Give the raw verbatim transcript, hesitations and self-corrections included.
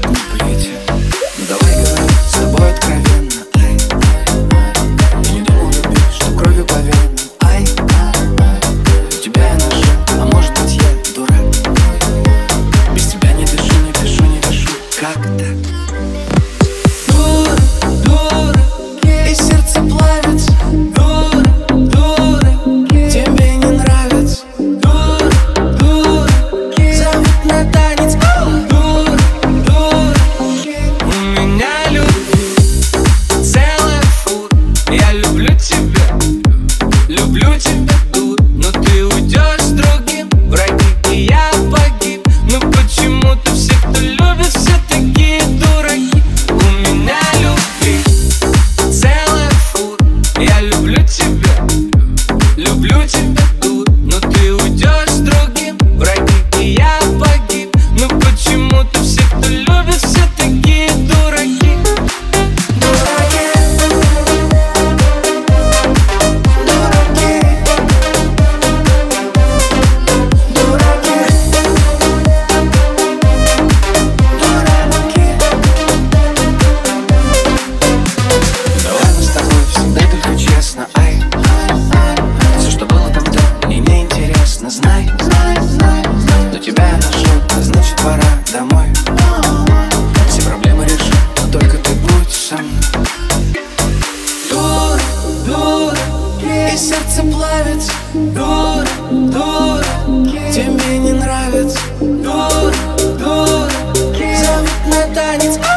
не плите. Ну давай говори с тобой откровенно. Ай, я не думал любить, что кровью по венам. Ай, тебя я нашел, а может быть я дурак. Без тебя не дышу, не дышу, не дышу. Как так? Дура, дура, и сердце плавится. Дура, дура, тебе не нравится. Дура, дура, зовут на танец. Дура, дура, у меня любви целая фура. Я люблю тебя, люблю тебя, дура. Но ты уйдешь с другим, враги, и я погиб. Ну почему-то все, кто любит, все такие дураки. У меня любви целая фура. Я люблю тебя, люблю тебя, дура. Но ты уйдешь с другим, враги, и я погиб. Ну почему-то все, кто любит, все такие дураки. Дураки, дураки, дураки, дураки. Давай мы с тобой всегда только честно. Ай, все, что было тогда, мне не интересно. Знай, знай, знай, но тебя я нашел, а значит пора домой. Все проблемы решу, но только ты будь со мной. Дура, дура, и сердце плавится. Дура, дура, тебе не нравится. Дура, дура, зовут на танец.